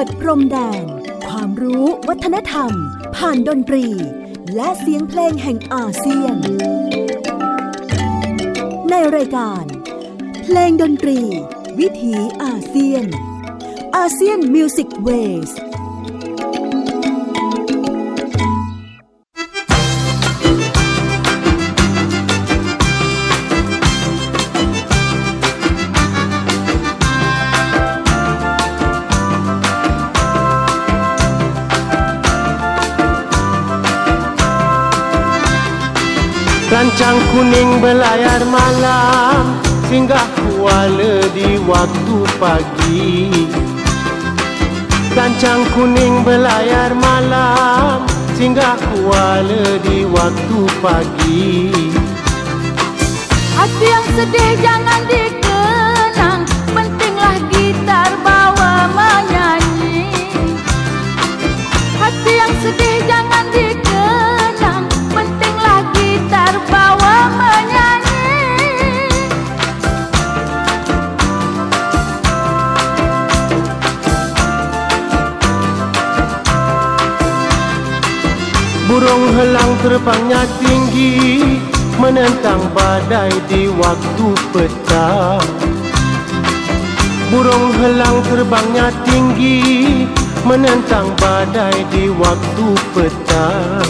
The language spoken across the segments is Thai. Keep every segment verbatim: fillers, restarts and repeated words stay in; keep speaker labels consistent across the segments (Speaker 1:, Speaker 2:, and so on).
Speaker 1: ดพรมแดนความรู้วัฒนธรรมผ่านดนตรีและเสียงเพลงแห่งอาเซียนในรายการเพลงดนตรีวิถีอาเซียนอาเซียนมิวสิกเวส
Speaker 2: Kancang kuning berlayar malam singgah kuala di waktu pagi. Kancang kuning berlayar malam singgah kuala di waktu pagi.
Speaker 3: Hati yang sedih jangan dikenang, pentinglah gitar bawa menyanyi. Hati yang sedih jangan dikenang, pentinglah gitar bawa menyanyi.
Speaker 2: Burung helang terbangnya tinggi menentang badai di waktu petang. Burung helang terbangnya tinggi menentang badai di waktu petang.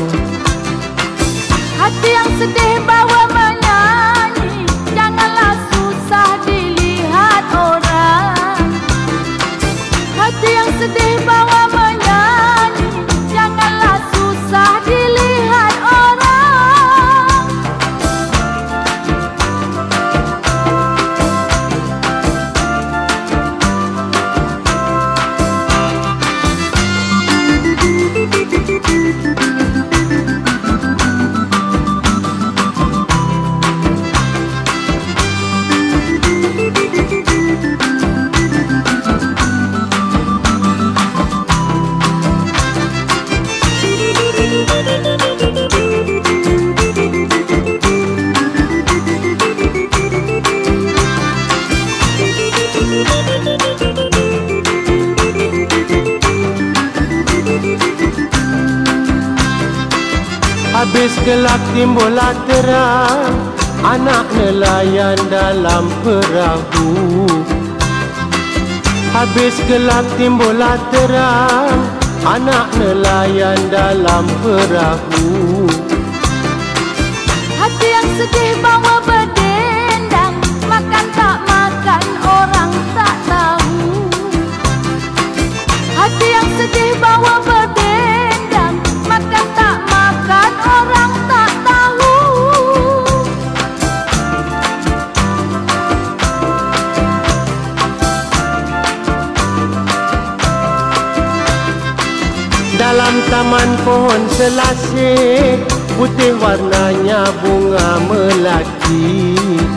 Speaker 3: Hati yang sedih bawa menyanyi, janganlah susah dilihat orang. Hati yang sedih bawa menyanyi, janganlah susah dilihat orang.
Speaker 2: Habis gelap timbullah terang, anak nelayan dalam perahu. Habis gelap timbullah terang, anak nelayan dalam perahu.
Speaker 3: Hati yang sedih bawa berdendang, makan tak makan orang tak tahu. Hati yang sedih bawa berdendang, makan tak makan orang tak tahu.
Speaker 2: Dalam taman pohon selasih, putih warnanya bunga melati.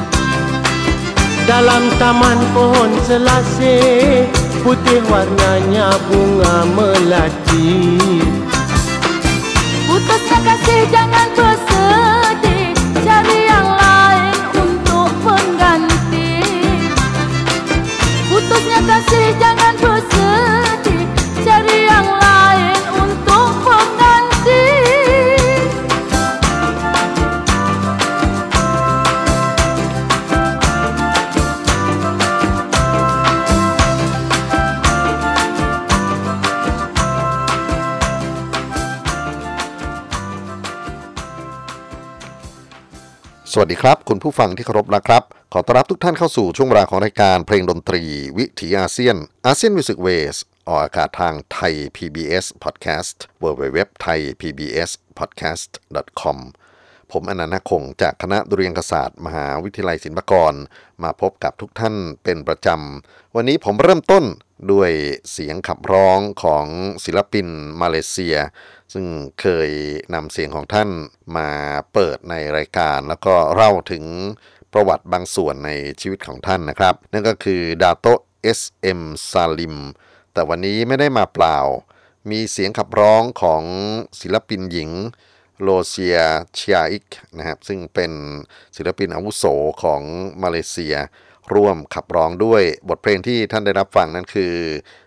Speaker 2: Dalam taman pohon selasih, putih warnanya bunga melati.
Speaker 3: Putusnya kasih jangan bersedih, cari yang lain untuk pengganti. Putusnya kasih jangan bersedih, cari yang lain untuk pengganti.
Speaker 4: สวัสดีครับคุณผู้ฟังที่เคารพนะครับขอต้อนรับทุกท่านเข้าสู่ช่วงเวลาของรายการเพลงดนตรีวิถีอาเซียนอาเซียนมิวสิกเวสออกอากาศทางไทย พี บี เอส Podcast ดับเบิลยู ดับเบิลยู ดับเบิลยู ดอท ไทย พี บี เอส พอดแคสต์ ดอท คอม ผมอนันต์คงจากคณะดุริยางคศาสตร์มหาวิทยาลัยศิลปากรมาพบกับทุกท่านเป็นประจำวันนี้ผมเริ่มต้นด้วยเสียงขับร้องของศิลปินมาเลเซียซึ่งเคยนำเสียงของท่านมาเปิดในรายการแล้วก็เล่าถึงประวัติบางส่วนในชีวิตของท่านนะครับนั่นก็คือดาโตะ เอส เอ็ม ซาลิมแต่วันนี้ไม่ได้มาเปล่ามีเสียงขับร้องของศิลปินหญิงโลเซียเชียอิกนะครับซึ่งเป็นศิลปินอาวุโสของมาเลเซียร่วมขับร้องด้วยบทเพลงที่ท่านได้รับฟังนั้นคือ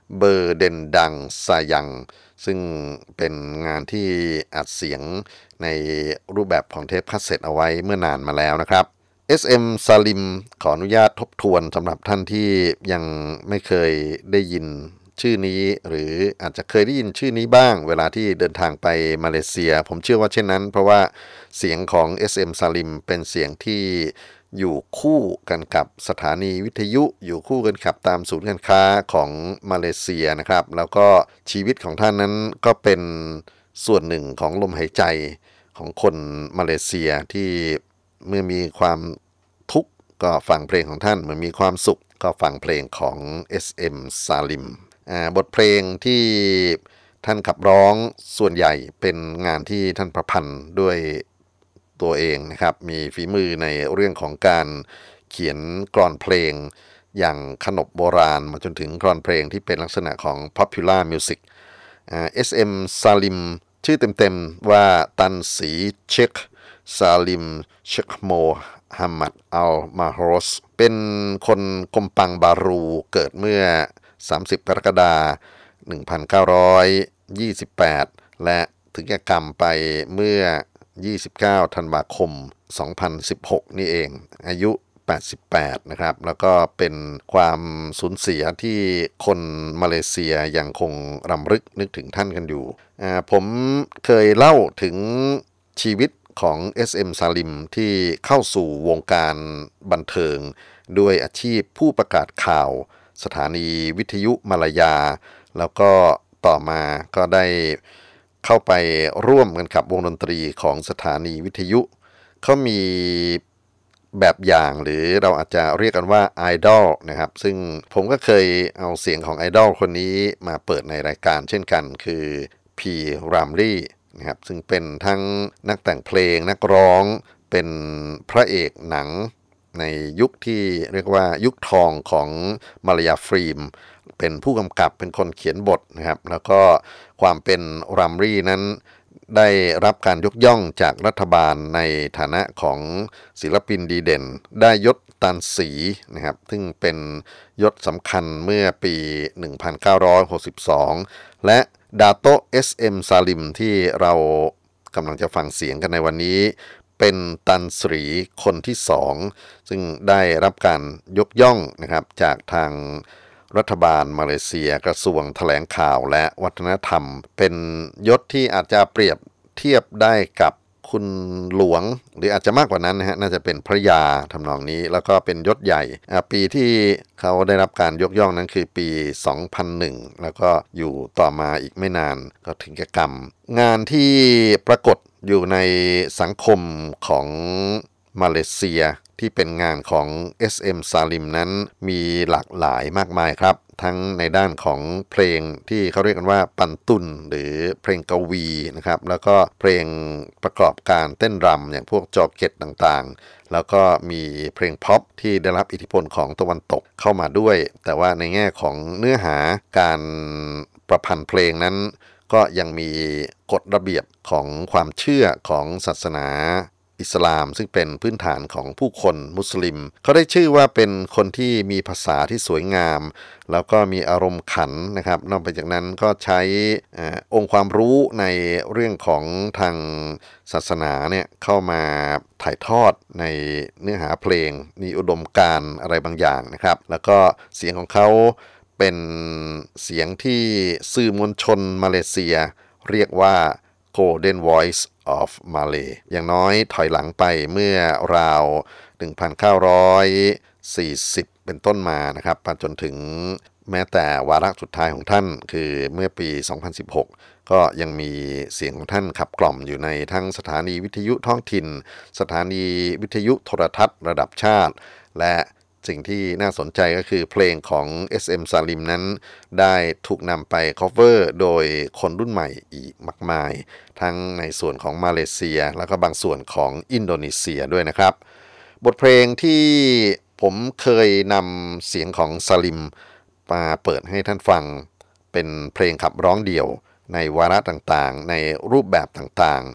Speaker 4: เบอร์เดนดังซายังซึ่งเป็นงานที่อัดเสียงในรูปแบบของเทปคาสเซ็ตเอาไว้เมื่อนานมาแล้วนะครับ เอส เอ็ม Salim ขออนุญาตทบทวนสำหรับท่านที่ยังไม่เคยได้ยินชื่อนี้หรืออาจจะเคยได้ยินชื่อนี้บ้างเวลาที่เดินทางไปมาเลเซียผมเชื่อว่าเช่นนั้นเพราะว่าเสียงของ เอส เอ็ม Salim เป็นเสียงที่อยู่คู่กันกับสถานีวิทยุอยู่คู่กันกับตามศูนย์การค้าของมาเลเซียนะครับแล้วก็ชีวิตของท่านนั้นก็เป็นส่วนหนึ่งของลมหายใจของคนมาเลเซียที่เมื่อมีความทุกข์ก็ฟังเพลงของท่านเมื่อมีความสุขก็ฟังเพลงของ เอส เอ็ม Salim อ่าบทเพลงที่ท่านขับร้องส่วนใหญ่เป็นงานที่ท่านประพันธ์ด้วยตัวเองนะครับมีฝีมือในเรื่องของการเขียนกลอนเพลงอย่างขนบโบราณมาจนถึงกลอนเพลงที่เป็นลักษณะของ popular music อ่า เอส เอ็ม Salim ชื่อเต็มๆว่าตันสีเชคซาลิมเชคโมฮัมมัดอัลมาฮรอสเป็นคนกมปังบารูเกิดเมื่อสามสิบกรกฎาคมหนึ่งพันเก้าร้อยยี่สิบแปดและถึงแก่กรรมไปเมื่อยี่สิบเก้าธันวาคมสองพันสิบหกนี่เองอายุแปดสิบแปดนะครับแล้วก็เป็นความสูญเสียที่คนมาเลเซียยังคงรำลึกนึกถึงท่านกันอยู่อ่าผมเคยเล่าถึงชีวิตของ เอส เอ็ม Salim ที่เข้าสู่วงการบันเทิงด้วยอาชีพผู้ประกาศข่าวสถานีวิทยุมาลายาแล้วก็ต่อมาก็ได้เข้าไปร่วมกันกับวงดนตรีของสถานีวิทยุเขามีแบบอย่างหรือเราอาจจะเรียกกันว่าไอดอลนะครับซึ่งผมก็เคยเอาเสียงของไอดอลคนนี้มาเปิดในรายการเช่นกันคือพีรามลี่นะครับซึ่งเป็นทั้งนักแต่งเพลงนักร้องเป็นพระเอกหนังในยุคที่เรียกว่ายุคทองของมาลายาฟิล์มเป็นผู้กำกับเป็นคนเขียนบทนะครับแล้วก็ความเป็นรามลี่นั้นได้รับการยกย่องจากรัฐบาลในฐานะของศิลปินดีเด่นได้ยศตันสีนะครับซึ่งเป็นยศสำคัญเมื่อปีหนึ่งพันเก้าร้อยหกสิบสองและดาโต เอส เอ็ม Salim ที่เรากำลังจะฟังเสียงกันในวันนี้เป็นตันสรีคนที่สองซึ่งได้รับการยกย่องนะครับจากทางรัฐบาลมาเลเซียกระทรวงแถลงข่าวและวัฒนธรรมเป็นยศที่อาจจะเปรียบเทียบได้กับคุณหลวงหรืออาจจะมากกว่านั้นนะฮะน่าจะเป็นพระยาทำนองนี้แล้วก็เป็นยศใหญ่ปีที่เขาได้รับการยกย่องนั้นคือปีสองพันหนึ่งแล้วก็อยู่ต่อมาอีกไม่นานก็ถึงแก่กรรมงานที่ปรากฏอยู่ในสังคมของมาเลเซียที่เป็นงานของ เอส เอ็ม Salim นั้นมีหลากหลายมากมายครับทั้งในด้านของเพลงที่เขาเรียกกันว่าปันตุนหรือเพลงกวีนะครับแล้วก็เพลงประกอบการเต้นรำอย่างพวกจอเก็ตต่างๆแล้วก็มีเพลงพ็อปที่ได้รับอิทธิพลของตะวันตกเข้ามาด้วยแต่ว่าในแง่ของเนื้อหาการประพันธ์เพลงนั้นก็ยังมีกฎระเบียบของความเชื่อของศาสนาอิสลามซึ่งเป็นพื้นฐานของผู้คนมุสลิมเขาได้ชื่อว่าเป็นคนที่มีภาษาที่สวยงามแล้วก็มีอารมณ์ขันนะครับนอกจากนั้นก็ใช้อองค์ความรู้ในเรื่องของทางศาสนาเนี่ยเข้ามาถ่ายทอดในเนื้อหาเพลงมีอุดมการณ์อะไรบางอย่างนะครับแล้วก็เสียงของเขาเป็นเสียงที่สื่อมวลชนมาเลเซียเรียกว่า Golden Voice of Malay อย่างน้อยถอยหลังไปเมื่อราว หนึ่งพันเก้าร้อยสี่สิบ เป็นต้นมานะครับจนถึงแม้แต่วาระสุดท้ายของท่านคือเมื่อปี สองพันสิบหก ก็ยังมีเสียงของท่านขับกล่อมอยู่ในทั้งสถานีวิทยุท้องถิ่นสถานีวิทยุโทรทัศน์ระดับชาติและสิ่งที่น่าสนใจก็คือเพลงของ เอส เอ็ม Salim นั้นได้ถูกนำไป cover โดยคนรุ่นใหม่อีกมากมายทั้งในส่วนของมาเลเซียแล้วก็บางส่วนของอินโดนีเซียด้วยนะครับบทเพลงที่ผมเคยนำเสียงของ Salim มาเปิดให้ท่านฟังเป็นเพลงขับร้องเดี่ยวในวาระต่างๆในรูปแบบต่างๆ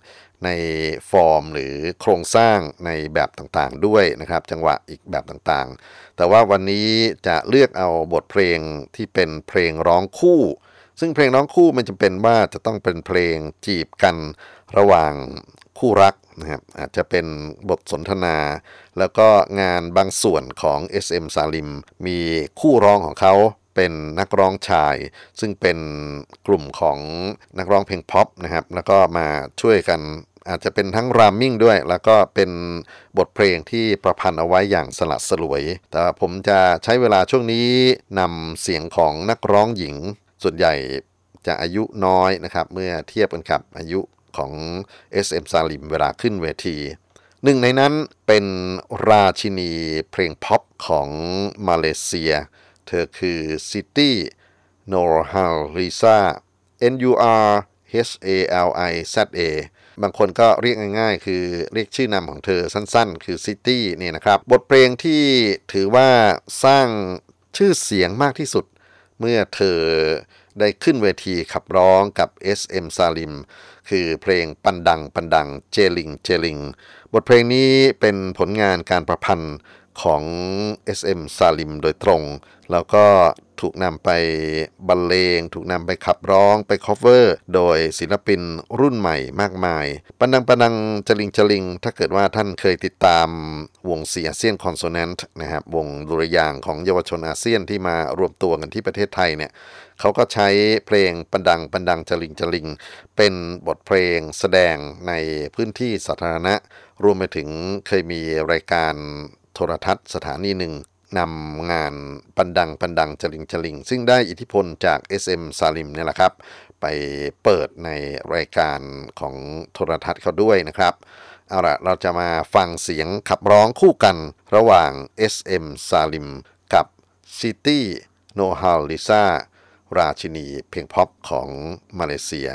Speaker 4: ในฟอร์มหรือโครงสร้างในแบบต่างๆด้วยนะครับจังหวะอีกแบบต่างๆแต่ว่าวันนี้จะเลือกเอาบทเพลงที่เป็นเพลงร้องคู่ซึ่งเพลงร้องคู่มันจำเป็นว่าจะต้องเป็นเพลงจีบกันระหว่างคู่รักนะครับอาจจะเป็นบทสนทนาแล้วก็งานบางส่วนของ เอส เอ็ม Salim มีคู่ร้องของเขาเป็นนักร้องชายซึ่งเป็นกลุ่มของนักร้องเพลงพ็อปนะครับแล้วก็มาช่วยกันอาจจะเป็นทั้งรามมิ่งด้วยแล้วก็เป็นบทเพลงที่ประพันธ์เอาไว้อย่างสลัดสลวยแต่ผมจะใช้เวลาช่วงนี้นำเสียงของนักร้องหญิงส่วนใหญ่จะอายุน้อยนะครับเมื่อเทียบกันกับอายุของ เอส เอ็ม Salim เวลาขึ้นเวทีหนึ่งในนั้นเป็นราชินีเพลงพ็อปของมาเลเซียเธอคือซิตี้โนร์ฮัลลิซา N U R H A L I Z A บางคนก็เรียกง่ายๆคือเรียกชื่อนามของเธอสั้นๆคือซิตี้นี่นะครับบทเพลงที่ถือว่าสร้างชื่อเสียงมากที่สุดเมื่อเธอได้ขึ้นเวทีขับร้องกับ เอส เอ็ม Salim คือเพลงปันดังปันดังเจลิงเจลิงบทเพลงนี้เป็นผลงานการประพันธ์ของ เอส เอ็ม Salim โดยตรงแล้วก็ถูกนำไปบรรเลงถูกนำไปขับร้องไปคอฟเวอร์โดยศิลปินรุ่นใหม่มากมายปันดังปันดังจลิงจลิงถ้าเกิดว่าท่านเคยติดตามวงเสียอาเซียนคอนโซแนนต์นะครับวงดุริยางค์ของเยาวชนอาเซียนที่มารวมตัวกันที่ประเทศไทยเนี่ยเขาก็ใช้เพลงปันดังปันดังจลิงจลิงเป็นบทเพลงแสดงในพื้นที่สาธารณะรวมไปถึงเคยมีรายการโทรทัศน์สถานีหนึ่งนำงานปันดังปันดังจลิงจลิงซึ่งได้อิทธิพลจาก เอส เอ็ม Salim เนี่ยแหละครับไปเปิดในรายการของโทรทัศน์เขาด้วยนะครับเอาล่ะเราจะมาฟังเสียงขับร้องคู่กันระหว่าง เอส เอ็ม Salim กับ Siti Nurhaliza ราชินีเพลงพ็อปของมาเลเซีย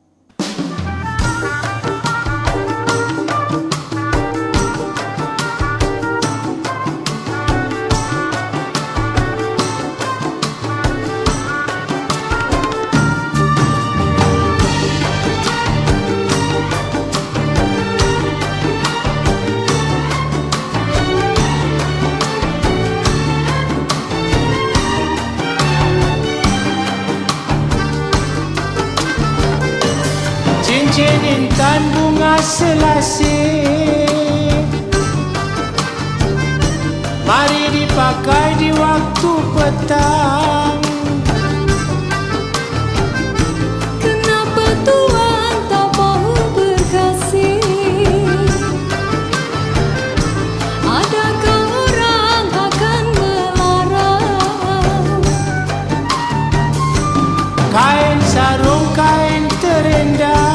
Speaker 2: Intan bunga selasih mari dipakai di waktu petang
Speaker 3: Kenapa Tuhan tak mahu berkasih Adakah orang akan melarang
Speaker 2: Kain sarung kain terendah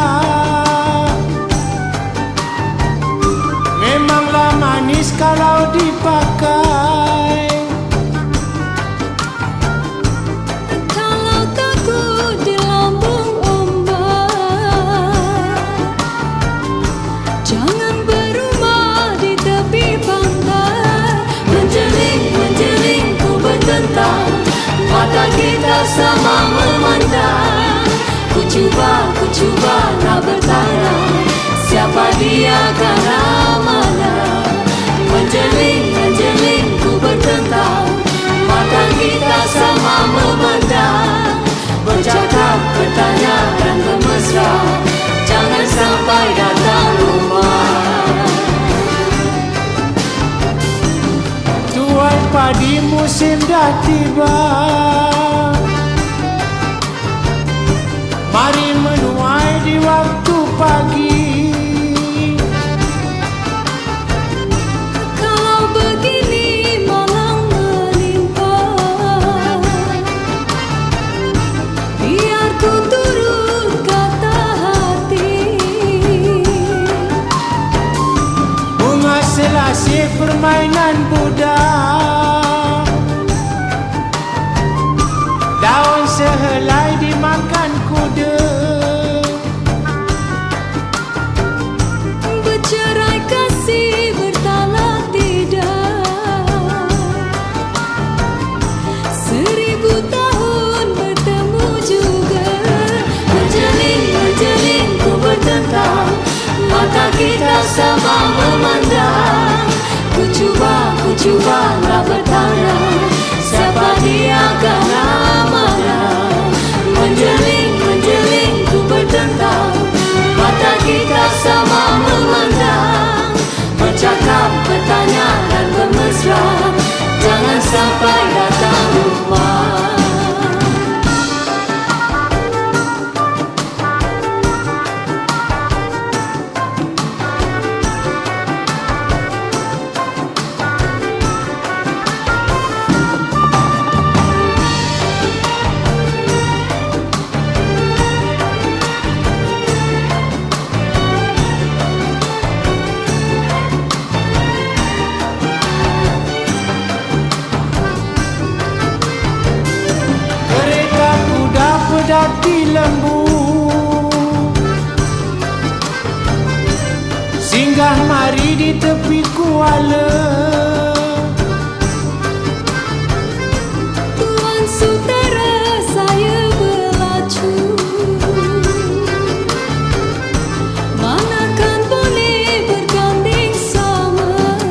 Speaker 2: manis kalau dipakai
Speaker 3: Kalau takut di lambung ombak Jangan berumah di tepi pantai Menjeling, menjeling ku bertentang Mata kita sama memandang Ku cuba, ku cuba nak bertanya Siapa dia karena mana Menjeling, menjeling ku bertentang Mata kita sama memandang Bercakap, bertanya dan bermesra Jangan sampai datang rumah
Speaker 2: Tuai padi musim dah tiba Mari menuai di waktu pagi Selasih permainan budak di tepi kuala.
Speaker 3: Tuan Sutera saya berlacu, manakan boleh berganding sama.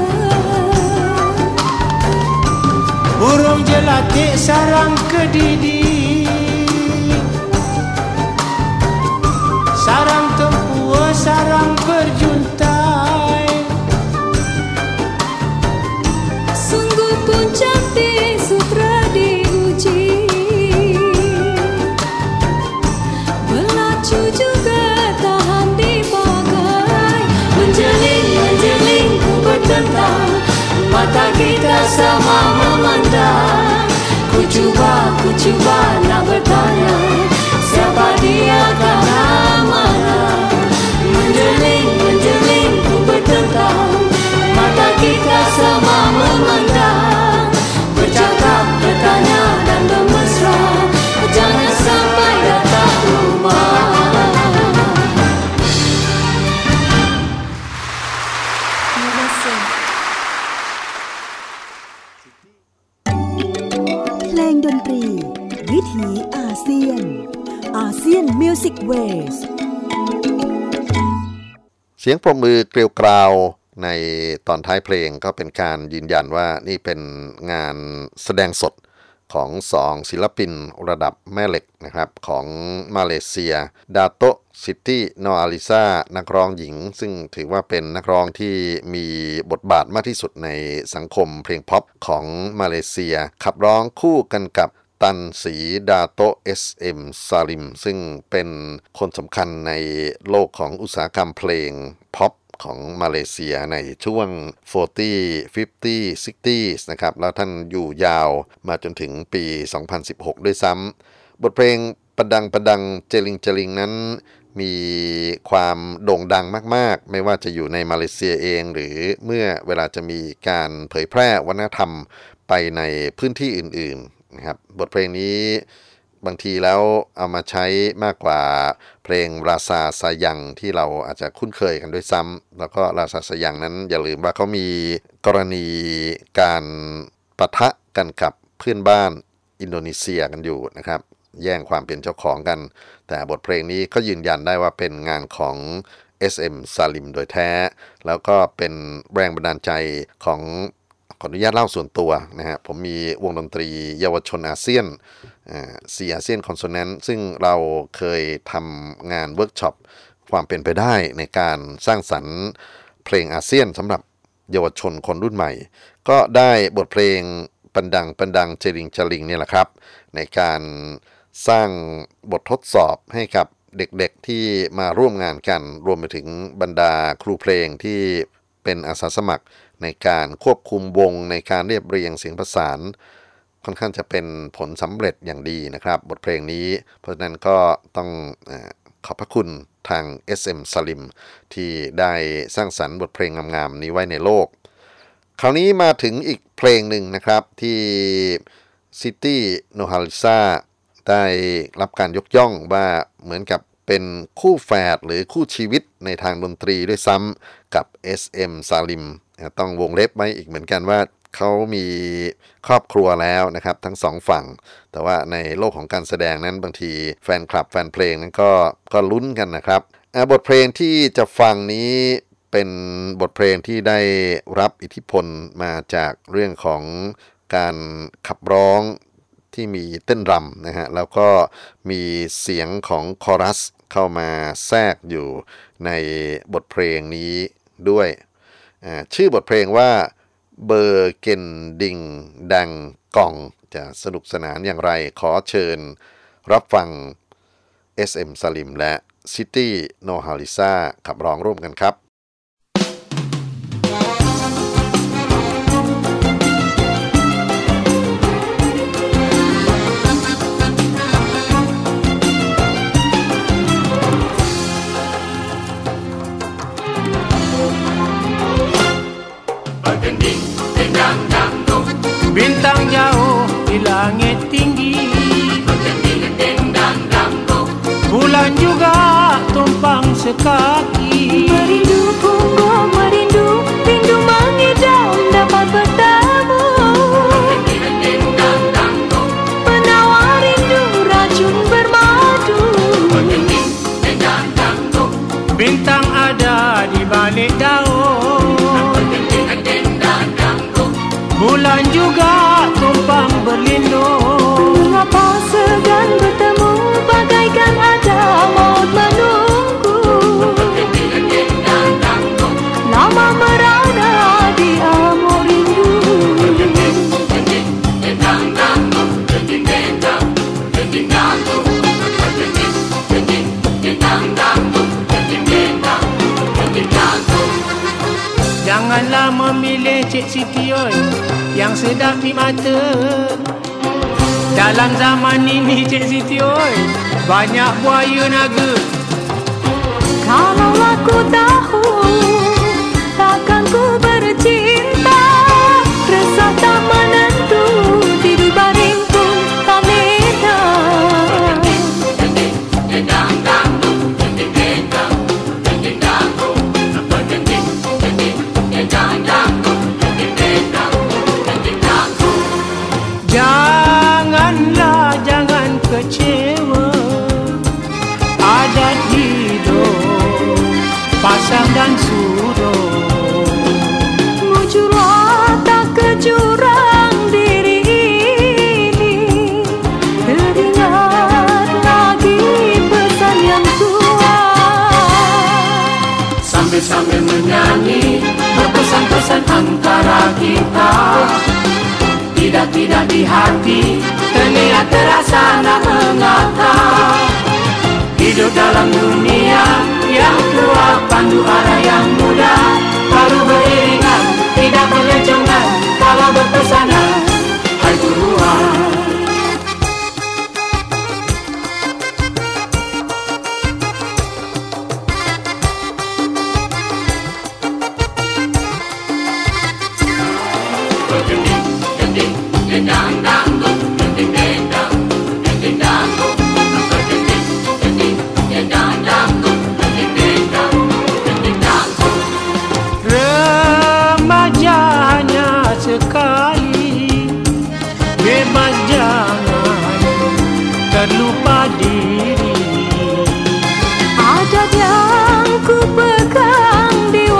Speaker 2: Burung jelatik sarang kedidi, sarang tempua, sarang berjuntai.
Speaker 3: Sungguh pun cantik sutra diuji, berlacu juga tahan dipakai. Menjeling, menjeling ku bertentang, mata kita sama memandang. Ku cuba, ku cuba nak bertanya, siapa dia karena mana? Menjeling, menjeling ku bertentang, mata kita sama memandang. Bercakap, bertanya dan bermesra, jangan sampai datang rumah. Terima kasih.
Speaker 1: เพลงดนตรีวิถีอาเซียนอาเซียนมิวสิกเวส
Speaker 4: เสียงปรบมือเกลียวกราวในตอนท้ายเพลงก็เป็นการยืนยันว่านี่เป็นงานแสดงสดของสองศิลปินระดับแม่เหล็กนะครับของมาเลเซียดาโตซิตี้นออาลิซานักร้องหญิงซึ่งถือว่าเป็นนักร้องที่มีบทบาทมากที่สุดในสังคมเพลงพ็อปของมาเลเซียขับร้องคู่กันกับตันสีดาโต เอส เอ็ม ซาลิมซึ่งเป็นคนสำคัญในโลกของอุตสาหกรรมเพลงพ็อปของมาเลเซียในช่วง สี่สิบ ห้าสิบ หกสิบ นะครับแล้วท่านอยู่ยาวมาจนถึงปี สองพันสิบหก ด้วยซ้ำบทเพลงประดังประดังเจลิงเจลิงนั้นมีความโด่งดังมากๆไม่ว่าจะอยู่ในมาเลเซียเองหรือเมื่อเวลาจะมีการเผยแพร่วัฒนธรรมไปในพื้นที่อื่นๆนะครับบทเพลงนี้บางทีแล้วเอามาใช้มากกว่าเพลงราซาซายังที่เราอาจจะคุ้นเคยกันด้วยซ้ำแล้วก็ราซาซายังนั้นอย่าลืมว่าเขามีกรณีการปะทะกันกับเพื่อนบ้านอินโดนีเซียกันอยู่นะครับแย่งความเป็นเจ้าของกันแต่บทเพลงนี้ก็ยืนยันได้ว่าเป็นงานของ เอส เอ็ม Salim โดยแท้แล้วก็เป็นแรงบันดาลใจของขออนุญาตเล่าส่วนตัวนะฮะผมมีวงดนตรีเยาวชนอาเซียนซีอาเซียนคอนโซแนนซ์ซึ่งเราเคยทำงานเวิร์กช็อปความเป็นไปได้ในการสร้างสรรค์เพลงอาเซียนสำหรับเยาวชนคนรุ่นใหม่ก็ได้บทเพลงปันดังปันดังเจริงจลิงเนี่ยแหละครับในการสร้างบททดสอบให้กับเด็กๆที่มาร่วมงานกันรวมไปถึงบรรดาครูเพลงที่เป็นอาสาสมัครในการควบคุมวงในการเรียบเรียงเสียงประสานค่อนข้างจะเป็นผลสำเร็จอย่างดีนะครับบทเพลงนี้เพราะฉะนั้นก็ต้องเอ่อขอบพระคุณทาง เอส เอ็ม Salim ที่ได้สร้างสรรค์บทเพลงงามๆนี้ไว้ในโลกคราวนี้มาถึงอีกเพลงหนึ่งนะครับที่ซิตี้โนฮาลิซาได้รับการยกย่องว่าเหมือนกับเป็นคู่แฝดหรือคู่ชีวิตในทางดนตรีด้วยซ้ำกับ เอส เอ็ม Salim ต้องวงเล็บไว้อีกเหมือนกันว่าเขามีครอบครัวแล้วนะครับทั้งสองฝั่งแต่ว่าในโลกของการแสดงนั้นบางทีแฟนคลับแฟนเพลงนั้นก็ก็ลุ้นกันนะครับบทเพลงที่จะฟังนี้เป็นบทเพลงที่ได้รับอิทธิพลมาจากเรื่องของการขับร้องที่มีเต้นรำนะฮะแล้วก็มีเสียงของคอรัสเข้ามาแทรกอยู่ในบทเพลงนี้ด้วยชื่อบทเพลงว่าเบอร์เกนดิงดังกองจะสนุกสนานอย่างไรขอเชิญรับฟัง เอส เอ็ม Salim และ Siti Nurhaliza ขับร้องร่วมกันครับ
Speaker 2: Bintang jauh di langit tinggi, bulan juga tumpang sekaki. Janganlah memilih Cik Siti oi yang sedap di mata. Dalam zaman ini Cik Siti oi banyak buaya naga.
Speaker 3: Kalau aku tahu takkan ku bercinta, resah tak menentu, tidur baring pun tak beda.
Speaker 2: Janganlah jangan kecewa, adat hidup pasang dan suruh.
Speaker 3: Mujur watak ke jurang diri ini, teringat lagi pesan yang tua.
Speaker 2: Sambil-sambil menyanyi berpesan-pesan antara kita, tidak-tidak di hati terlihat terasa nak mengata. Hidup dalam dunia yang tua, pandu arah yang muda, baru beriringan, tidak berlencongan kalau berpesanan. Hai Tuhan, remaja hanya sekali, bebas jangan terlupa diri.
Speaker 3: Adat yang ku pegang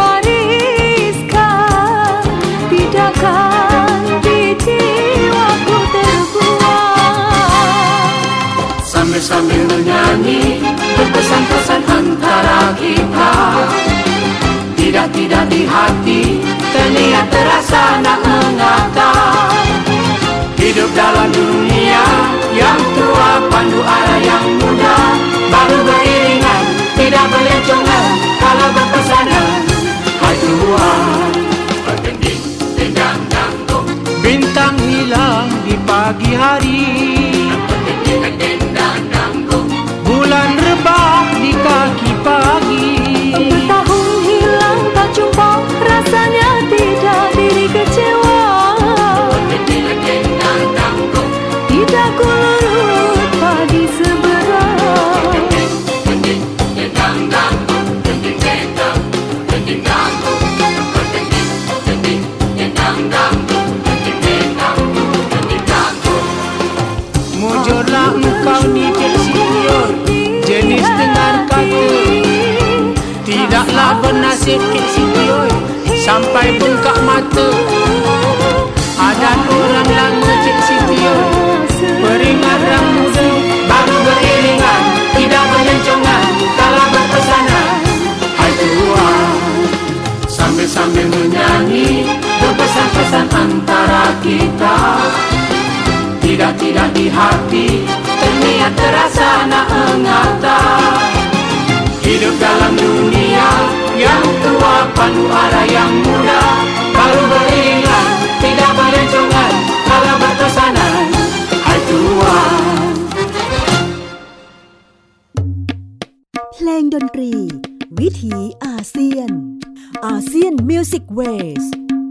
Speaker 3: diwariskan, tidakkan di jiwaku terbuang.
Speaker 2: Sambil-sambil menyanyi berpesan-pesan antara kita, tidak-tidak di hati terlihat terasa nak mengata. Hidup dalam dunia yang tua, pandu arah yang muda, baru beriringan, tidak berlencongan kalau berpesanan. Hai Tuhan, bintang hilang di pagi hari, bulan rebah di kaki pagi.
Speaker 3: Tahun hilang tak jumpa, rasanya tidak diri kecewa. Tidak ku lurut pagi seberang.
Speaker 2: Mujurlah engkau ni Cik Siti oi, jenis dengar kata, tidaklah bernasib Cik Siti oi sampai bengkak mata. Adat orang lama Cik Siti oi, peringat orang muda, baru beriringan, tidak berlencongan kalau berpesanan. Hai Tuhan, sambil-sambil menyanyi berpesan-pesan antara kita, tidak-tidak di hati terniat terasa nak mengata. Hidup dalam dunia yang tua, pandu arah yang muda, baru beriringan, tidak berlencongan kalau berpesanan. Hai Tuhan.
Speaker 1: เพลงดนตรีวิถีอาเซียนอาเซียนมิวสิกเวส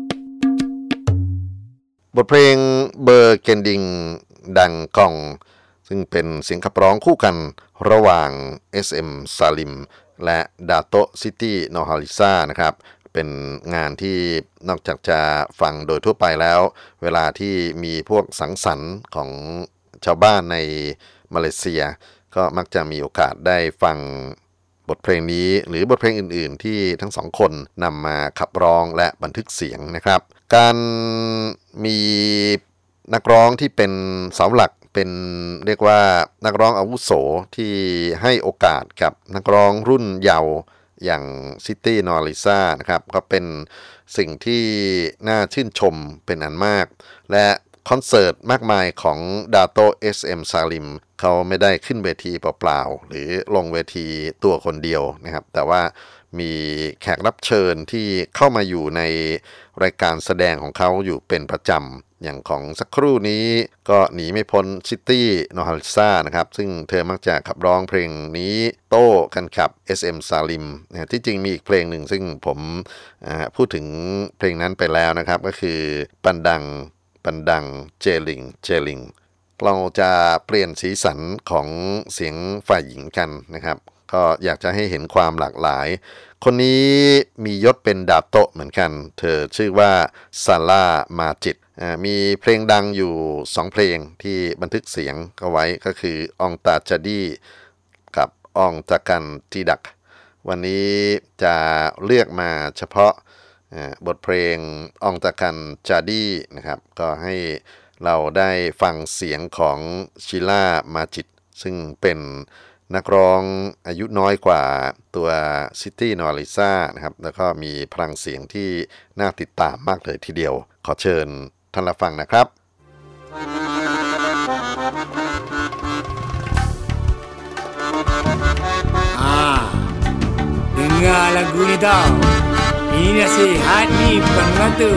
Speaker 4: บทเพลงเบอร์เกนดิงดังกองซึ่งเป็นเสียงขับร้องคู่กันระหว่าง เอส เอ็ม Salim และดาโตซิตี้นอฮาลิซานะครับเป็นงานที่นอกจากจะฟังโดยทั่วไปแล้วเวลาที่มีพวกสังสรรค์ของชาวบ้านในมาเลเซียก็มักจะมีโอกาสได้ฟังบทเพลงนี้หรือบทเพลงอื่นๆที่ทั้งสองคนนำมาขับร้องและบันทึกเสียงนะครับการมีนักร้องที่เป็นเสาหลักเป็นเรียกว่านักร้องอาวุโสที่ให้โอกาสกับนักร้องรุ่นเยาว์อย่างซิตี้นอริซ่านะครับก็เป็นสิ่งที่น่าชื่นชมเป็นอันมากและคอนเสิร์ตมากมายของดาโต้ เอส เอ็ม Salim เขาไม่ได้ขึ้นเวทีเปล่าๆหรือลงเวทีตัวคนเดียวนะครับแต่ว่ามีแขกรับเชิญที่เข้ามาอยู่ในรายการแสดงของเขาอยู่เป็นประจำอย่างของสักครู่นี้ก็หนีไม่พ้นซิตี้โนฮาลิซานะครับซึ่งเธอมักจะขับร้องเพลงนี้โต้กันกับ เอส เอ็ม Salim นะที่จริงมีอีกเพลงหนึ่งซึ่งผมพูดถึงเพลงนั้นไปแล้วนะครับก็คือปันดังปันดังเจลิงเจลิงเราจะเปลี่ยนสีสันของเสียงฝ่ายหญิงกันนะครับก็อยากจะให้เห็นความหลากหลายคนนี้มียศเป็นดาโตะเหมือนกันเธอชื่อว่าซาร่ามาจิตมีเพลงดังอยู่สองเพลงที่บันทึกเสียงเอาไว้ก็คือองตาจาดีกับองตากันทีดักวันนี้จะเลือกมาเฉพาะบทเพลงองตากันจาดีนะครับก็ให้เราได้ฟังเสียงของชิล่ามาจิตซึ่งเป็นนักร้องอายุน้อยกว่าตัวซิตี้นอริซ่านะครับแล้วก็มีพลังเสียงที่น่าติดตามมากเลยทีเดียวขอเชิญท่านรับฟังนะครับ
Speaker 2: Ah, dengar lagu ni tau. Ini nasihat ni bukan mengata.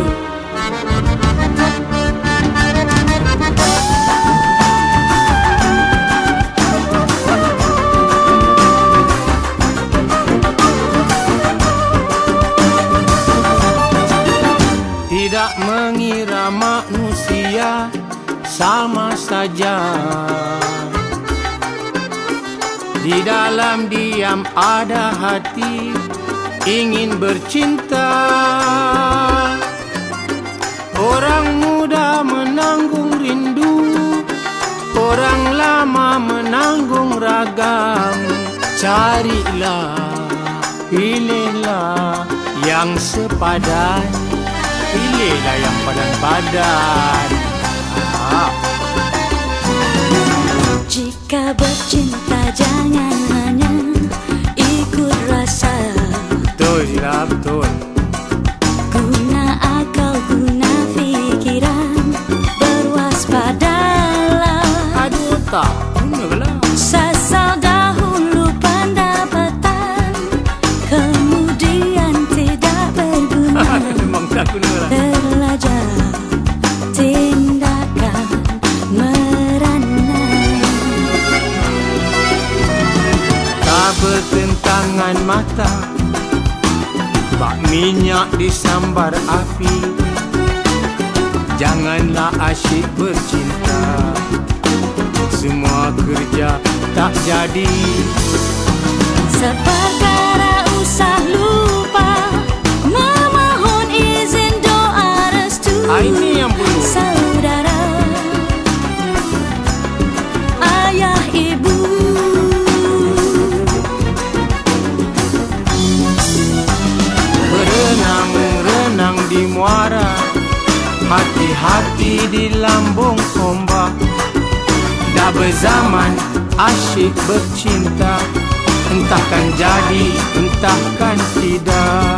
Speaker 2: Tidak mengira manusia sama saja. Di dalam diam ada hati ingin bercinta. Orang muda menanggung rindu, orang lama menanggung ragam. Carilah, pilihlah yang sepadan. Pilihlah yang padan-padan. Ah.
Speaker 3: Jika bercinta jangan hanya ikut rasa.
Speaker 2: Betul Zira, betul.
Speaker 3: Guna akal, guna fikiran, berwaspadalah.
Speaker 2: Aduh tak, gunalah.
Speaker 3: Sasal dahulu pendapatan, kemudian tidak berguna.
Speaker 2: Memang tak gunalah.
Speaker 3: Terlajar tindakan merana.
Speaker 2: Tak bertentangan mata, bak minyak disambar api. Janganlah asyik bercinta, semua kerja tak jadi.
Speaker 3: Seperkara usah lupa memohon izin doa restu.
Speaker 2: Ah, ini yang perlu.
Speaker 3: Saudara, ayah, ibu.
Speaker 2: Berenang-renang di muara, hati-hati di lambung ombak. Dah berzaman asyik bercinta, entahkan jadi, entahkan tidak.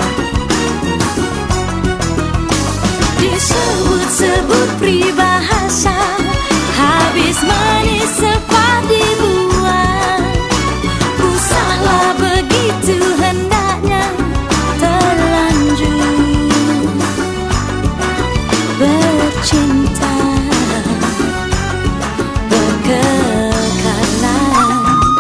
Speaker 3: Disebut-sebut peribahasa, habis manis cepat dibuang. Usahlah begitu hendaknya terlanjur bercinta berkekalan.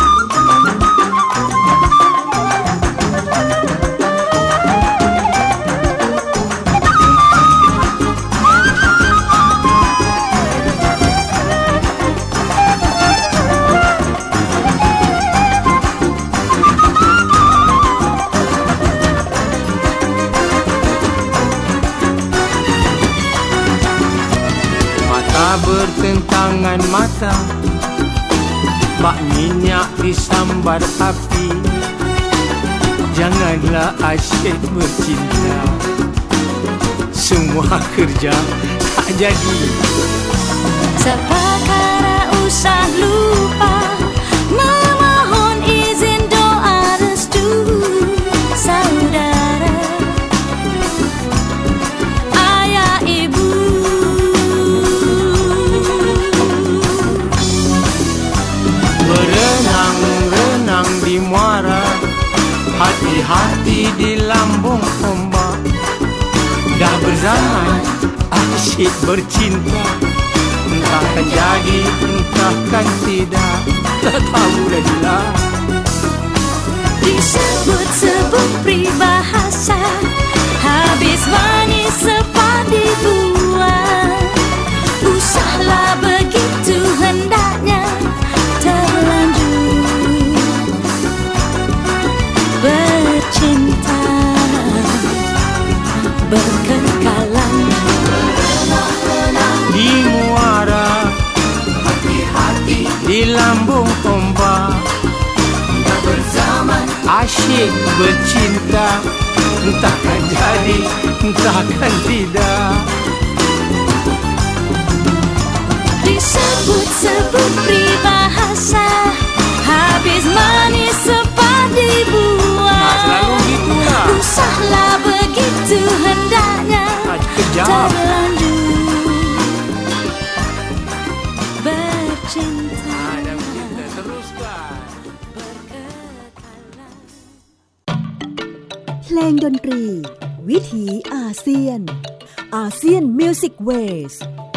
Speaker 2: Bertentangan mata, bak minyak disambar api. Janganlah asyik bercinta, semua kerja tak jadi.
Speaker 3: Seperkara usah lupa memohon izin doa restu. Saudara, ayah, ibu.
Speaker 2: yang renang di muara, hati-hati di lambung ombak. Dah berzaman asyik bercinta, entahkan jadi, entahkan tidak, tak tahu lagi-lah.
Speaker 3: Disebut-sebut peribahasa, habis manis sepadi buah. Usahlah begitu hendaknya terlanjur bercinta berkekalan.
Speaker 2: Di muara, hati-hati di lambung ombak. Dah berzaman asyik bercinta, entahkan jadi, entahkan tidak.
Speaker 3: Disebut-sebut peribahasa, habis manis sepadi buah.
Speaker 2: Nah, selalu gitulah.
Speaker 3: Usahlah begitu hendaknya terlanjur bercinta.
Speaker 2: Ada bercinta teruskan.
Speaker 1: เพลงดนตรีวิถีอาเซียนอาเซียนมิวสิกเวส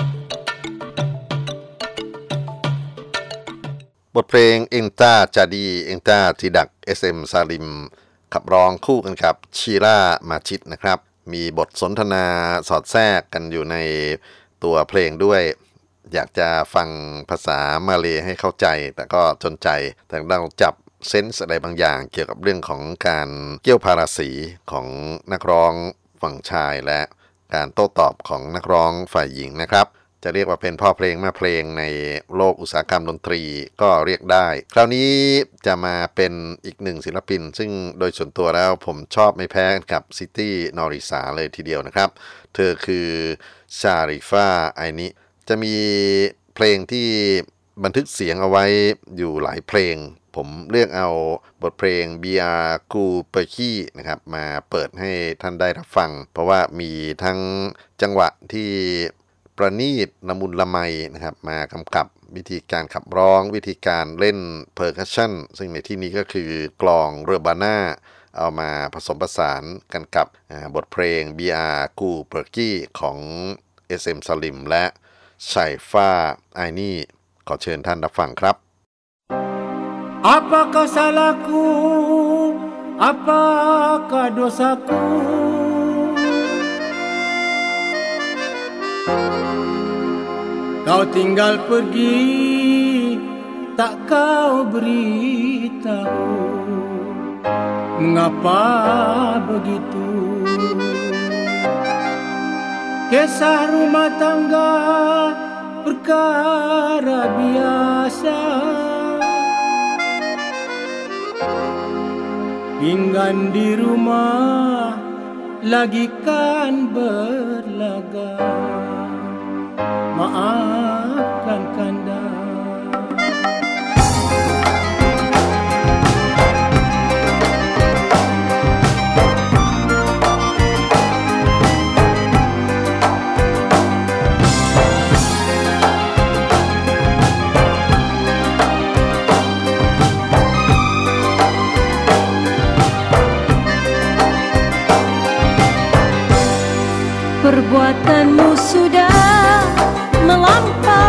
Speaker 4: บทเพลงเอ็งต้าจาดีเอ็งต้าทีดัก เอส เอ็ม ซาลิมขับร้องคู่กันกับชีล่ามาชิดนะครับมีบทสนทนาสอดแทรกกันอยู่ในตัวเพลงด้วยอยากจะฟังภาษามาเลย์ให้เข้าใจแต่ก็จนใจแต่เราจับเซนส์อะไรบางอย่างเกี่ยวกับเรื่องของการเกี่ยวพาราสีของนักร้องฝั่งชายและการโต้ตอบของนักร้องฝ่ายหญิงนะครับจะเรียกว่าเป็นพ่อเพลงแม่เพลงในโลกอุตสาหกรรมดนตรีก็เรียกได้คราวนี้จะมาเป็นอีกหนึ่งศิลปินซึ่งโดยส่วนตัวแล้วผมชอบไม่แพ้กับซิตี้นอริสาเลยทีเดียวนะครับเธอคือชาริฟาไอนิจะมีเพลงที่บันทึกเสียงเอาไว้อยู่หลายเพลงผมเลือกเอาบทเพลง Bia Ku Perki นะครับมาเปิดให้ท่านได้รับฟังเพราะว่ามีทั้งจังหวะที่ประณีตละมุนละไมนะครับมากำกับวิธีการขับร้องวิธีการเล่นเพอร์คัชชั่นซึ่งในที่นี้ก็คือกลองเรบาน่าเอามาผสมผสานกันกับบทเพลง Bia Ku Perki ของ เอส เอ็ม Salim และไชฟ้าไอนี่ขอเชิญท่านรับฟังครับ
Speaker 2: Apakah salahku, apakah dosaku? Kau tinggal pergi, tak kau beritahu. Mengapa begitu? Kisah rumah tangga perkara biasa. Pinggan di rumah lagi kan berlaga. Maafkan kanda.
Speaker 3: Perbuatanmu sudah melampaui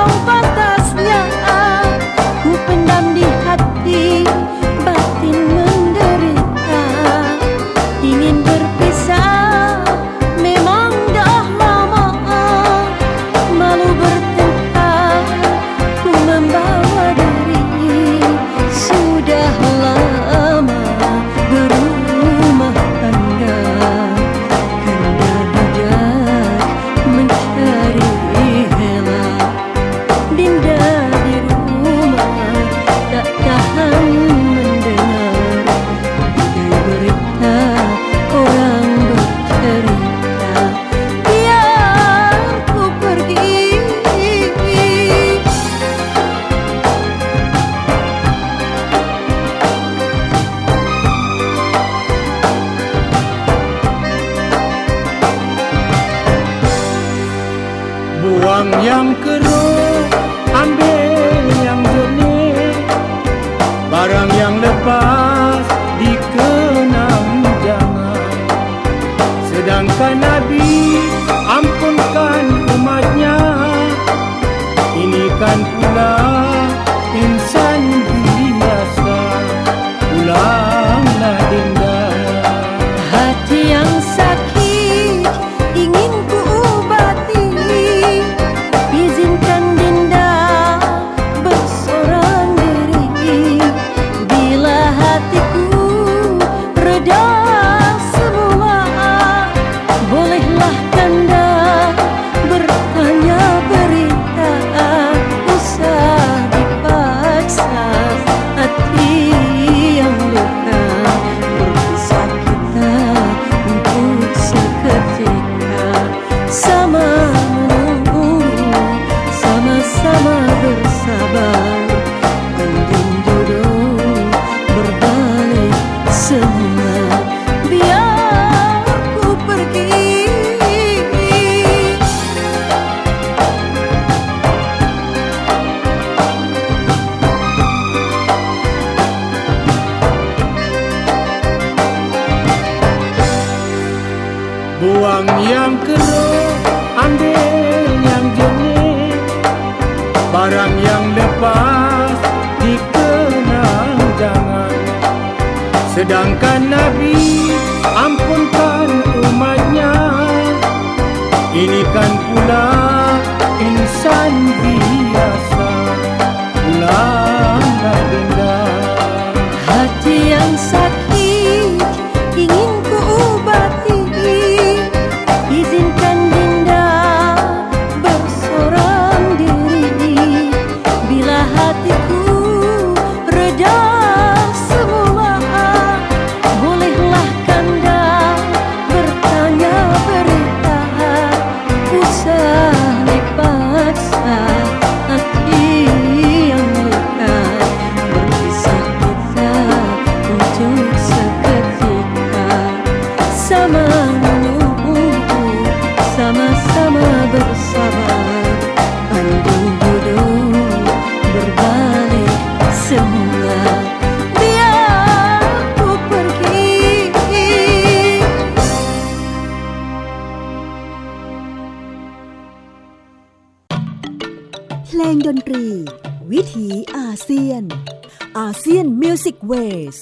Speaker 2: Sedangkan Nabi ampunkan umatnya. Ini kan pula insan biasa, pulanglah denda.
Speaker 3: Hati yang sakit ingin ku obati, izinkan Dinda bersorang diri. Bila hatiku reda semula, bolehlah Kanda bertanya berita. Usah dipaksa hati yang lekat, berpisah kita untuk seketika. Sama menunggu, sama-sama bersabar, pandang hidup berbalik semula. Biar ku pergi.
Speaker 1: เพลงดนตรี วิถีอาเซียนอาเซียนมิวสิกเวส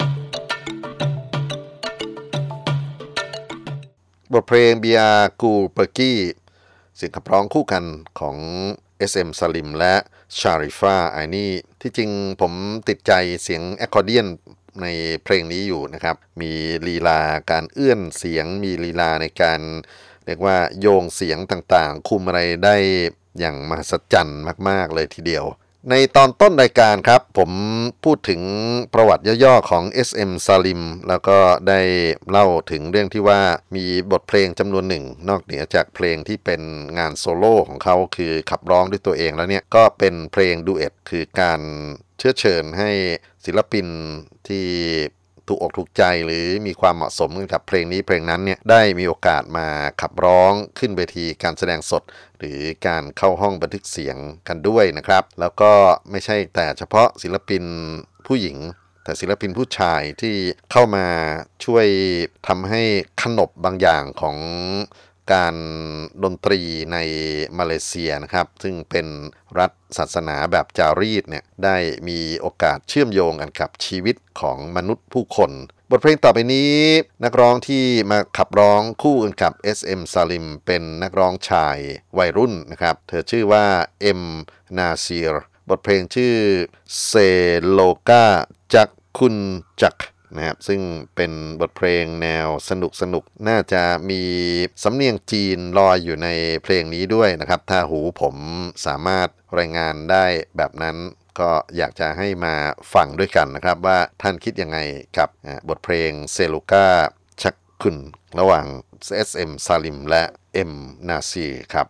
Speaker 4: บทเพลงเบียกูเปอร์กี้เสียงขับร้องคู่กันของ เอส เอ็ม Salim และชาริฟาไอนี่ที่จริงผมติดใจเสียงแอคคอร์เดียนในเพลงนี้อยู่นะครับมีลีลาการเอื้อนเสียงมีลีลาในการเรียกว่าโยงเสียงต่างๆคุมอะไรได้อย่างมหัศจรรย์มากๆเลยทีเดียวในตอนต้นรายการครับผมพูดถึงประวัติย่อๆของ เอส เอ็ม Salim แล้วก็ได้เล่าถึงเรื่องที่ว่ามีบทเพลงจำนวนหนึ่งนอกเหนือจากเพลงที่เป็นงานโซโล่ของเขาคือขับร้องด้วยตัวเองแล้วเนี่ยก็เป็นเพลงดูเอตคือการเชื้อเชิญให้ศิลปินที่ถูกอกถูกใจหรือมีความเหมาะสมกับเพลงนี้เพลงนั้นเนี่ยได้มีโอกาสมาขับร้องขึ้นเวทีการแสดงสดหรือการเข้าห้องบันทึกเสียงกันด้วยนะครับแล้วก็ไม่ใช่แต่เฉพาะศิลปินผู้หญิงแต่ศิลปินผู้ชายที่เข้ามาช่วยทำให้ขนบบางอย่างของการดนตรีในมาเลเซียนะครับซึ่งเป็นรัฐศาสนาแบบจารีตเนี่ยได้มีโอกาสเชื่อมโยงกันกับชีวิตของมนุษย์ผู้คนบทเพลงต่อไปนี้นักร้องที่มาขับร้องคู่กันกับ เอส เอ็ม Salim เป็นนักร้องชายวัยรุ่นนะครับเธอชื่อว่าเอ็มนาซีรบทเพลงชื่อเซโลกาจักคุณจักนะครับซึ่งเป็นบทเพลงแนวสนุกสนุกน่าจะมีสำเนียงจีนลอยอยู่ในเพลงนี้ด้วยนะครับถ้าหูผมสามารถรายงานได้แบบนั้นก็อยากจะให้มาฟังด้วยกันนะครับว่าท่านคิดยังไงกับบทเพลงเซลูกาชักคุนระหว่าง เอส เอ็ม Salim และ เอ็ม นาซีรครับ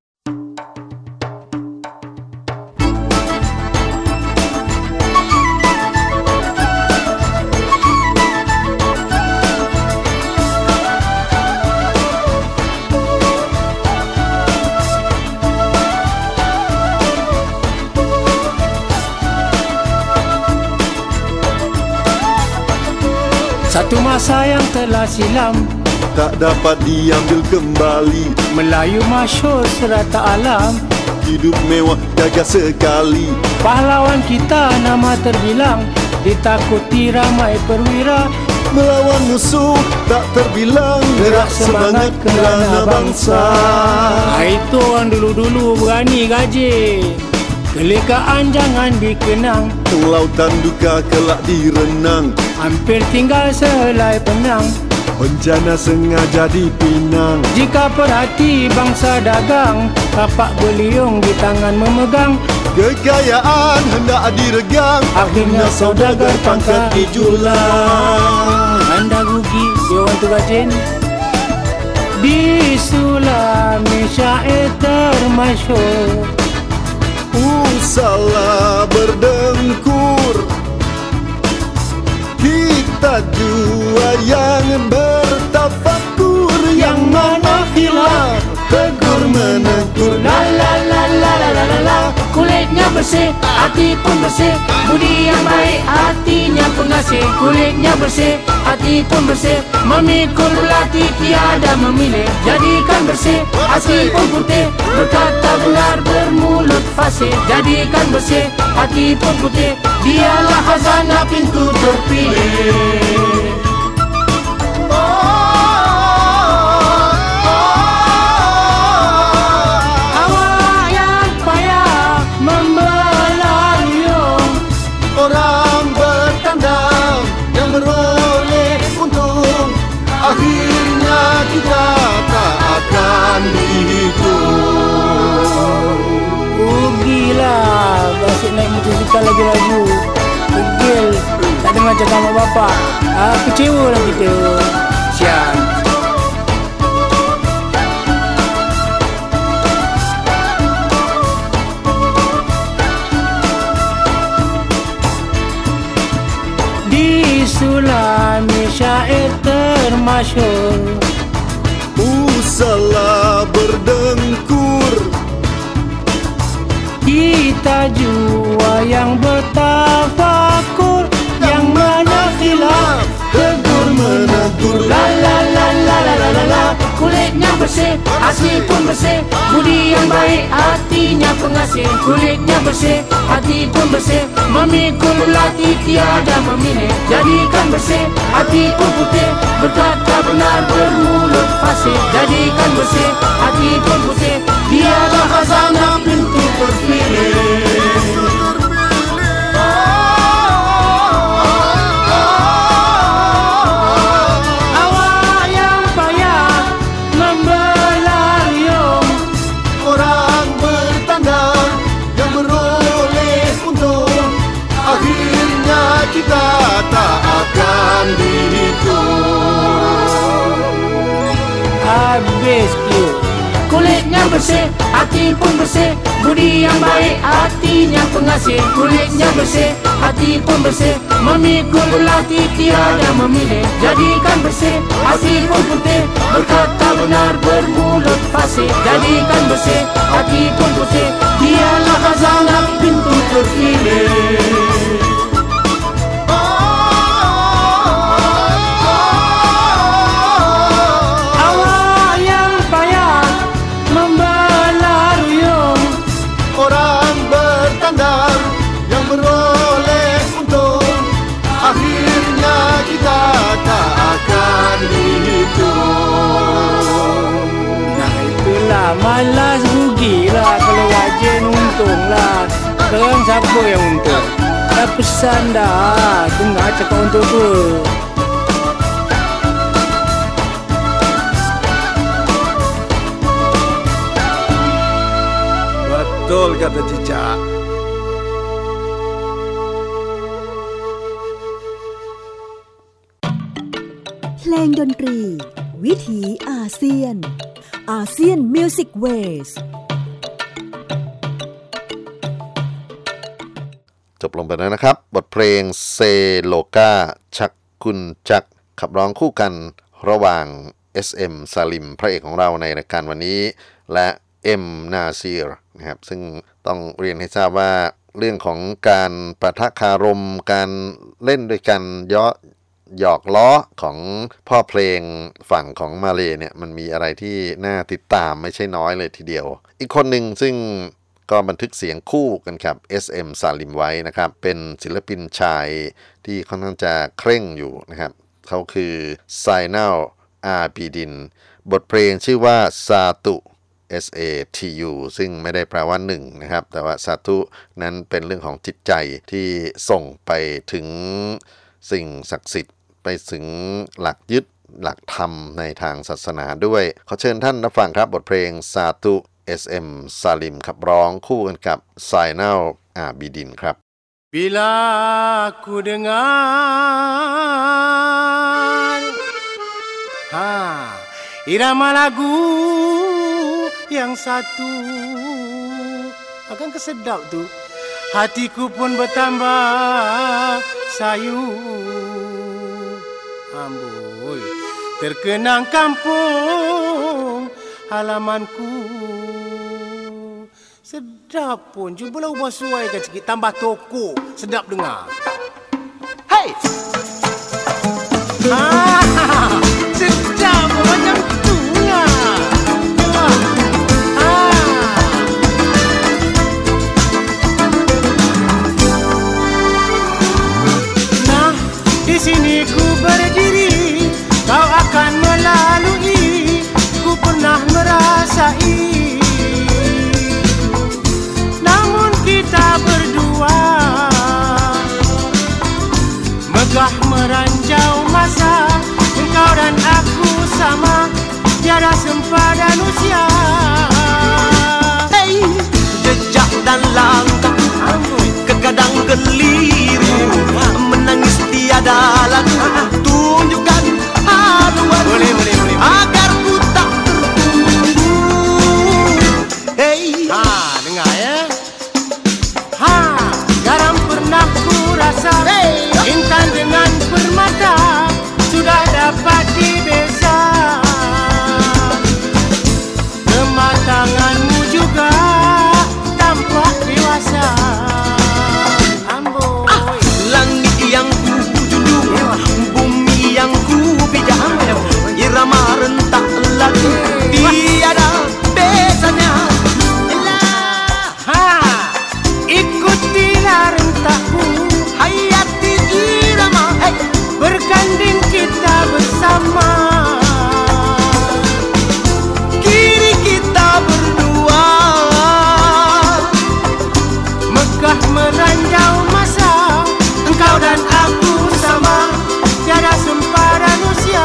Speaker 2: Satu masa yang telah silam
Speaker 5: tak dapat diambil kembali,
Speaker 2: Melayu masyhur serata alam,
Speaker 5: hidup mewah gagah sekali.
Speaker 2: Pahlawan kita nama terbilang, ditakuti ramai perwira,
Speaker 5: melawan musuh tak terbilang, gerak semangat kerana bangsa.
Speaker 2: Itu orang dulu-dulu berani gaji, kelekaan jangan dikenang,
Speaker 5: lautan duka kelak direnang,
Speaker 2: hampir tinggal sehelai penang,
Speaker 5: bencana sengaja dipinang.
Speaker 2: Jika perhati bangsa dagang, kapak beliung di tangan memegang,
Speaker 5: kekayaan hendak diregang,
Speaker 2: akhirnya saudagar pangkat dijulang. Anda rugi, you want to gajin? Di Sulami syair termasyhur,
Speaker 5: salah berdengkur, kita dua yang bertafakur, yang mana khilaf tegur menegur.
Speaker 2: La la la la la la la la. Kulitnya bersih, hati pun bersih, budi yang baik, hatinya pengasih. Kulitnya bersih, hati pun bersih, memikul belati tiada memilih. Jadikan bersih, hati pun putih, berkata benar bermulut fasih. Jadikan bersih, hati pun putih, dialah khazanah pintu terpilih.
Speaker 6: dengarkan lagu-lagu degil, tak dengar cakap mak bapak. Ah, kecewa lah kita. Sian. Di Sulami syair termasyhur,
Speaker 5: Usahlah berdengkur,
Speaker 6: kita jua yang bertafakur, yang mana khilaf tegur menegur. La la la la la la la la. Kulitnya bersih, asli pun bersih, budi yang baik, hatinya pengasih. Kulitnya bersih, hati pun bersih, memikul belati tiada memilih. Jadikan bersih, hati pun putih, berkata benar bermulut fasih. Jadikan bersih, hati pun putih, tiada khazanah pintu terpilih.
Speaker 5: Kita tak akan dihitung.
Speaker 6: Habis Q. Kulitnya bersih, hati pun bersih, budi yang baik, hatinya pengasih. Kulitnya bersih, hati pun bersih, memikul belati tiada memilih. Jadikan bersih, hati pun putih, berkata benar bermulut fasih. Jadikan bersih, hati pun putih, dialah khazanah pintu terpilih. Malas rugilah, kalau wajen untunglah. Sekarang siapa yang untung? Dah pesan dah, dengar cakap untuk tu.
Speaker 5: Betul kata Cicak.
Speaker 1: เพลงดนตรีวิถีอาเซียนอาเซียนมิวสิกเวส
Speaker 4: จบลงไปแล้วนะครับบทเพลงเซโลกาชักกุนจักขับร้องคู่กันระหว่าง เอส เอ็ม ซาลิมพระเอกของเราในรายการวันนี้และเอ็มนาซีรนะครับซึ่งต้องเรียนให้ทราบว่าเรื่องของการปะทะคารมการเล่นด้วยกันเยาะหยอกล้อของพ่อเพลงฝั่งของมาเลเนี่ยมันมีอะไรที่น่าติดตามไม่ใช่น้อยเลยทีเดียวอีกคนหนึ่งซึ่งก็บันทึกเสียงคู่กันครับ เอส เอ็ม ซาลิมไว้นะครับเป็นศิลปินชายที่ค่อนข้างจะเคร่งอยู่นะครับเขาคือไซนัล อาบีดินบทเพลงชื่อว่าซาตุ เอส เอ ที ยู ซึ่งไม่ได้แปลว่าหนึ่งนะครับแต่ว่าซาตุนั้นเป็นเรื่องของจิตใจที่ส่งไปถึงสิ่งศักดิ์สิทธิ์ไปถึงหลักยึดหลักธรรมในทางศาสนาด้วยขอเชิญท่านรับฟังครับบทเพลงซาตุ เอส เอ็ม ซาลิมขับร้องคู่กันกับไซนัล อาบีดินครับ
Speaker 6: Bila ku dengar ha, irama lagu yang satu, akan kesedap tu, hatiku pun bertambah sayu. Amboi, terkenang kampung halamanku. Sedap pun, cubalah ubah suaikan sikit, tambah toko, sedap dengar. Hey! Ah, sedap pun macam tu lah. Ah. Nah, di sini ku berdiri, kau akan melalui, ku pernah merasai. Kita berdua megah meranjau masa, engkau dan aku sama, tiada sempadan usia.
Speaker 7: Hey, jejak dan langkah, kegagalan
Speaker 5: sedang keliru, menangis tiada lagu, tunjukkan haluan
Speaker 6: Boleh, boleh, boleh.
Speaker 5: agar ku tak tertunggu. Hey,
Speaker 6: Ha, dengar ya. Ha, garam pernah ku rasa.
Speaker 5: Hey.
Speaker 6: Intan dengan permata sudah dapat dibeza. Kematanganmu juga tampak dewasa. Amboi.
Speaker 5: langit yang ku junjung, bumi yang ku pijak, irama rentak lagu tiada bezanya.
Speaker 6: Ha, ikutilah rentakku,
Speaker 5: Hayati irama, hey,
Speaker 6: berganding kita bersama.
Speaker 5: kiri kita berdua.
Speaker 6: Megah meranjau masa, engkau dan aku sama, tiada sempadan usia.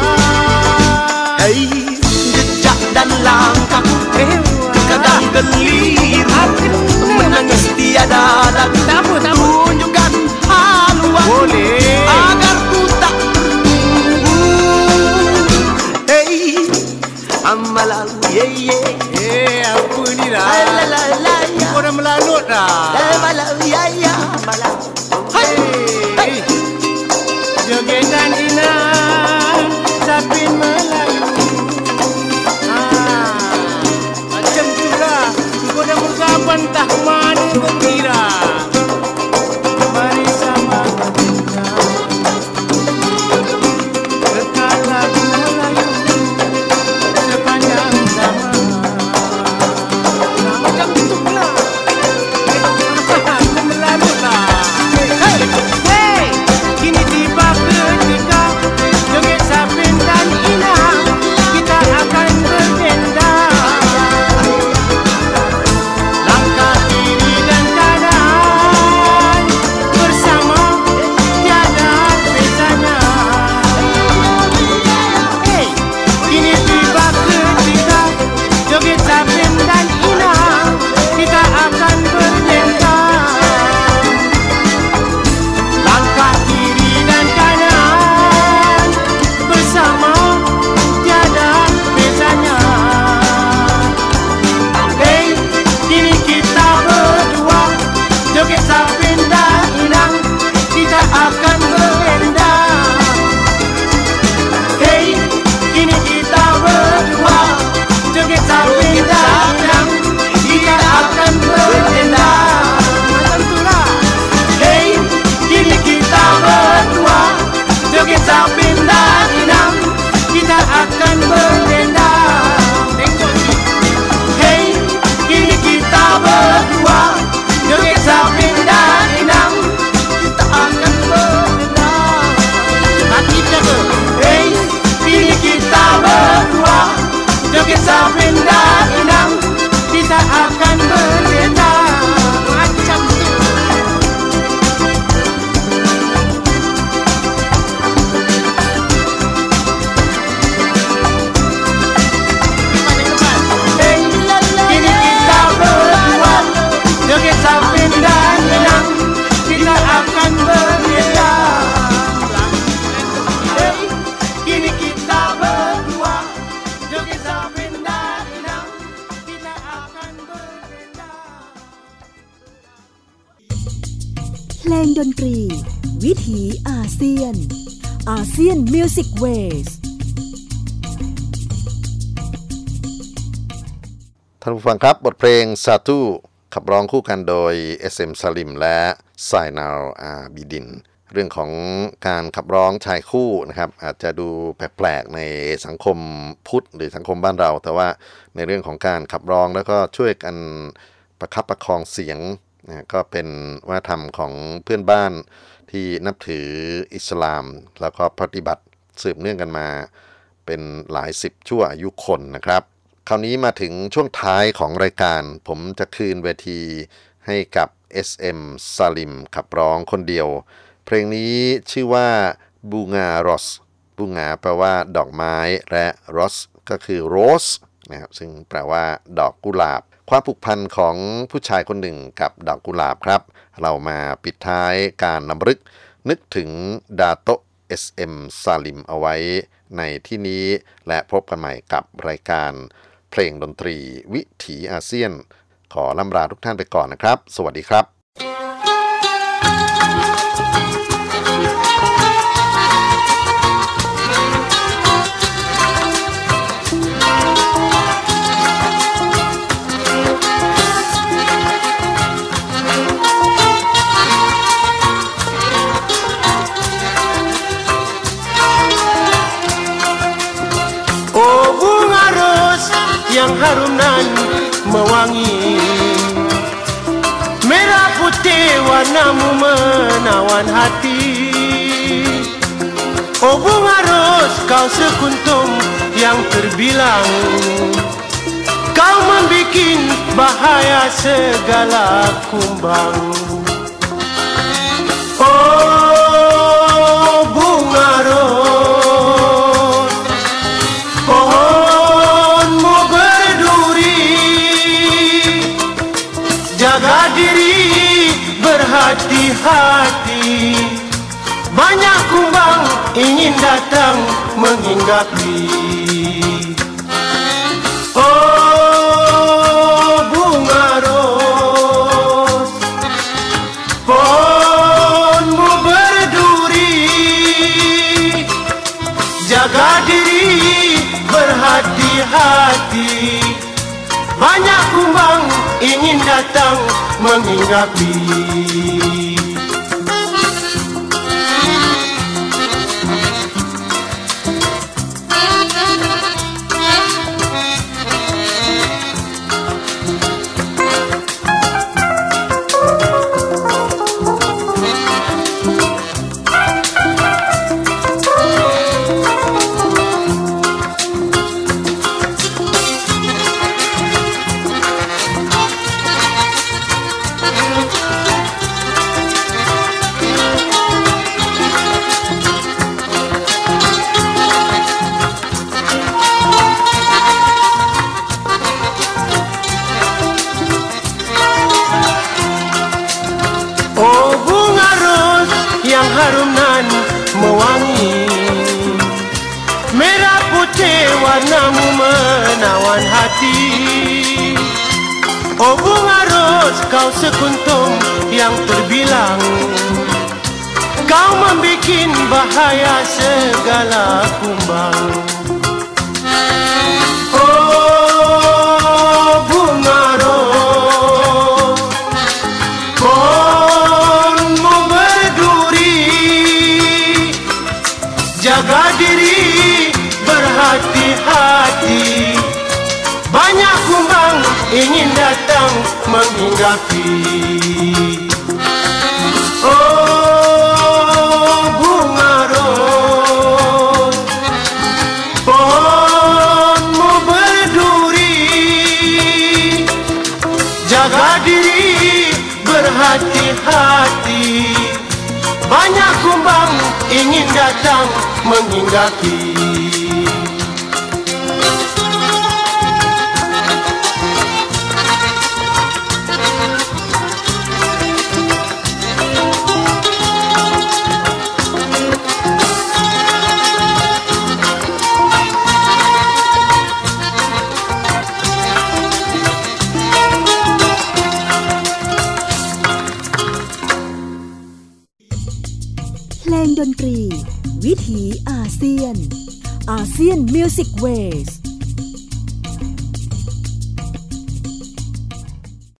Speaker 5: Hey, jejak dan langkahku kadang keliru, menangis tiada lagu,
Speaker 6: Tak apa, tak apa.
Speaker 5: tunjukkan haluan
Speaker 6: Boleh.
Speaker 5: agar ku tak tertunggu. Hey, amalau ye ye,
Speaker 6: Eh, apa ni dah?
Speaker 5: la la la ya,
Speaker 6: Kau dah melanut dah.
Speaker 5: amalau ya ya, amalau. Hey, hey,
Speaker 6: Joget dan inang, Sapin Melayu. Ah, macam tu lah. Kau dah berkawan tak mana kau kira. Mari sama kita, kekal lagu Melayu sepanjang zaman. Nah, macam tu pula. Aku melanut lah. Hey, hey, kini tiba ketika joget Sapin dan inang, kita akan berdendang. Langkah kiri dan kanan bersama, tiada bezanya. Hey, kini tiba ketika joget Sapin dan inang, kita akan berdendang. Langkah kiri dan kanan bersama, tiada bezanya. Hey, kini kita berdua joget Sapin dan inang, kita akan berdendang. Hey, kini kita berdua joget Sapin dan inang, kita akan berdendang. Macam tu lah. Hey, kini kita berdua joget Sapin dan inang, kita akan berdendang. Tengok ni. Hey, kini kita berdua joget Sapin dan inang, kita akan berdendang. Hati jaga. Hey, kini kita berdua joget Sapin dan inang, kita akan berdendang. Macam tu. Hey, kini kita berdua joget Sapin dan inang, kita akan berdendang. Hey, kini kita berdua joget Sapin dan inang, kita akan berdendang.
Speaker 1: เพลงดนตรี วิถีอาเซียนอาเซียนมิวสิกเวส
Speaker 4: ท่านผู้ฟังครับบทเพลงซาตูขับร้องคู่กันโดย เอส เอ็ม ซาลิมและไซนาลอาบิดิน เรื่องของการขับร้องชายคู่นะครับอาจจะดูแปลกๆในสังคมพุทธหรือสังคมบ้านเรา แต่ว่าในเรื่องของการขับร้องแล้วก็ช่วยกันประคับประคองเสียงนะก็เป็นวัฒนธรรมของเพื่อนบ้านที่นับถืออิสลามแล้วก็ปฏิบัติสืบเนื่องกันมาเป็นหลายสิบชั่วอายุคนนะครับคราวนี้มาถึงช่วงท้ายของรายการผมจะคืนเวทีให้กับ เอส เอ็ม ซาลิมขับร้องคนเดียวเพลงนี้ชื่อว่าบูงารอสบูงาแปลว่าดอกไม้และรอสก็คือโรสนะครับซึ่งแปลว่าดอกกุหลาบความผูกพันของผู้ชายคนหนึ่งกับดอกกุหลาบครับเรามาปิดท้ายการนำลึกนึกถึงดาโตะ เอส เอ็ม ซาลิมเอาไว้ในที่นี้และพบกันใหม่กับรายการเพลงดนตรีวิถีอาเซียนขอล่ำลาทุกท่านไปก่อนนะครับสวัสดีครับ
Speaker 6: yang harum nan mewangi merah putih warnamu menawan hati oh bunga ros kau sekuntum yang terbilang kau membikin bahaya segala kumbang oh bunga ros jaga diri berhati-hati banyak kumbang ingin datang menghinggapi oh bunga ros pohonmu berduri jaga diri berhati-hati banyak kumbang ingin datang menghinggapi harum nan mewangi merah putih warnamu menawan hati oh bunga ros kau sekuntum yang terbilang kau membikin bahaya segala kumbang oh bunga ros pohonmu jaga diri berhati-hati banyak kumbang ingin datang menghinggapi oh bunga ros pohonmu berduri jaga diri berhati-hati banyak kumbang ingin datang menghinggapi
Speaker 1: เพลงดนตรีวิถีอาเซียนอาเซียนมิวสิกเวส